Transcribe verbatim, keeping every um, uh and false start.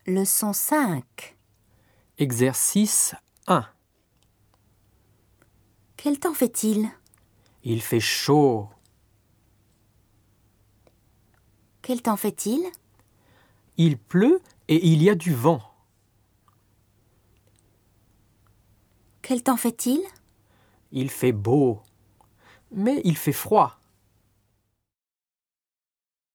Leçon cinq. Exercice un. Quel temps fait-il? Il fait chaud. Quel temps fait-il? Il pleut et il y a du vent. Quel temps fait-il? Il fait beau, mais il fait froid.